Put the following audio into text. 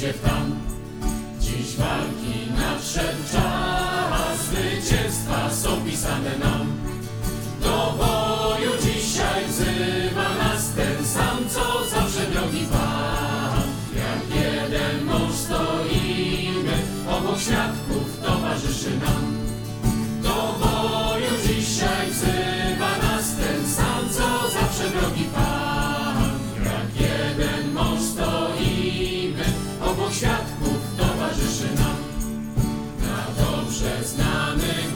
pójdzie w tam. Dziś walki nadszedł czas, zwycięstwa są pisane nam. Do boju dzisiaj wzywa nas ten sam, co zawsze drogi Pan. Jak jeden mąż stoimy, obok świadków towarzyszy nam. Do boju dzisiaj wzywa nas ten sam, co zawsze drogi Pan. Jak jeden mąż stoimy, obok świadków towarzyszy nam. Na dobrze znanych